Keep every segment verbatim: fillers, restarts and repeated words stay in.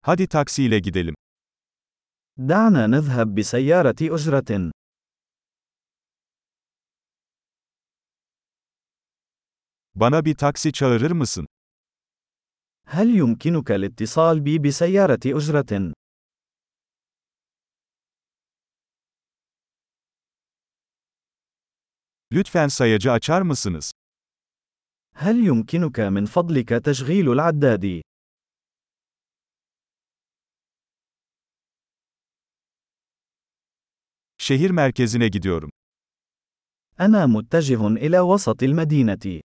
Hadi taksiyle gidelim. دعنا نذهب بسيارة أجرة. Bana bir taksi çağırır mısın? هل يمكنك الاتصال بي بسيارة أجرة؟ Lütfen sayacı açar mısınız? هل يمكنك من فضلك تشغيل العداد؟ Şehir merkezine gidiyorum. أنا متجه إلى وسط المدينة.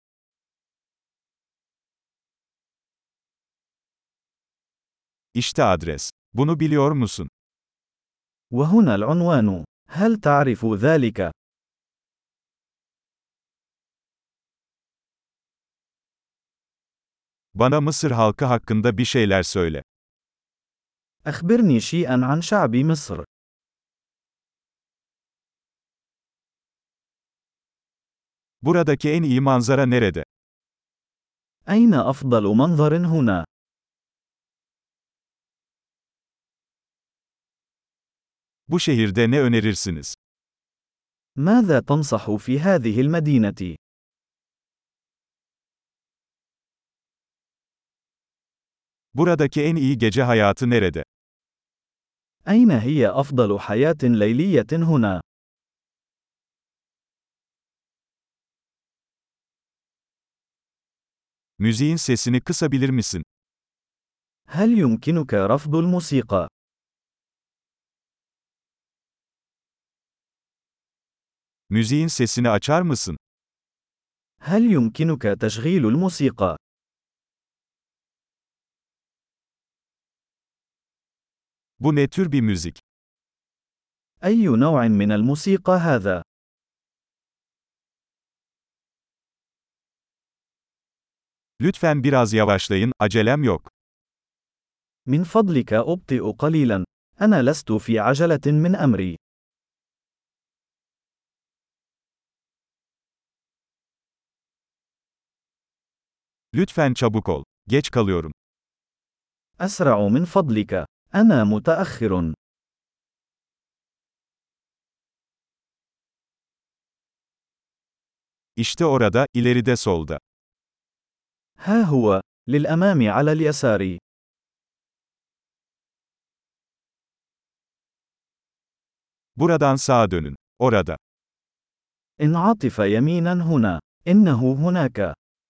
İşte adres. Bunu biliyor musun? وهنا العنوان. هل تعرف ذلك؟ Bana Mısır halkı hakkında bir şeyler söyle. أخبرني شيئًا عن شعب مصر. Buradaki en iyi manzara nerede? أين أفضل منظر هنا؟ Bu şehirde ne önerirsiniz? ماذا تنصح في هذه المدينة؟ Buradaki en iyi gece hayatı nerede? أين هي أفضل حياة ليلية هنا؟ Müziğin sesini kısabilir misin? هل يمكنك رفض الموسيقى؟ Müziğin sesini açar mısın? هل يمكنك تشغيل الموسيقى؟ Bu ne tür bir müzik? أي نوع من الموسيقى هذا؟ Lütfen biraz yavaşlayın, acelem yok. من فضلك أبطئ قليلاً. أنا لست في عجلة من أمري. Lütfen çabuk ol. Geç kalıyorum. أسرع من فضلك. أنا متأخر. İşte orada, ileride solda. ها هو. للأمام على اليسار. Buradan sağa dönün. Orada. انعطف يميناً هنا. إنه هناك.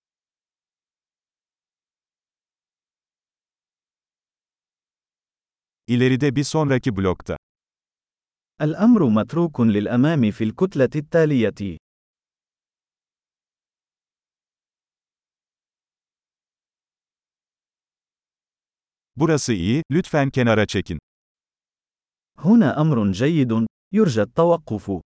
İleride bir sonraki blokta. الأمر متروك للأمام في الكتلة التالية. Burası iyi, lütfen kenara çekin. هنا أمر جيد. يرجى التوقف.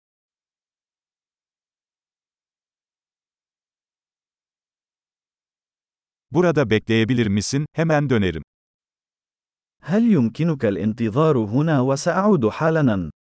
Burada bekleyebilir misin? Hemen dönerim. هل يمكنك الانتظار هنا وسأعود حالاً؟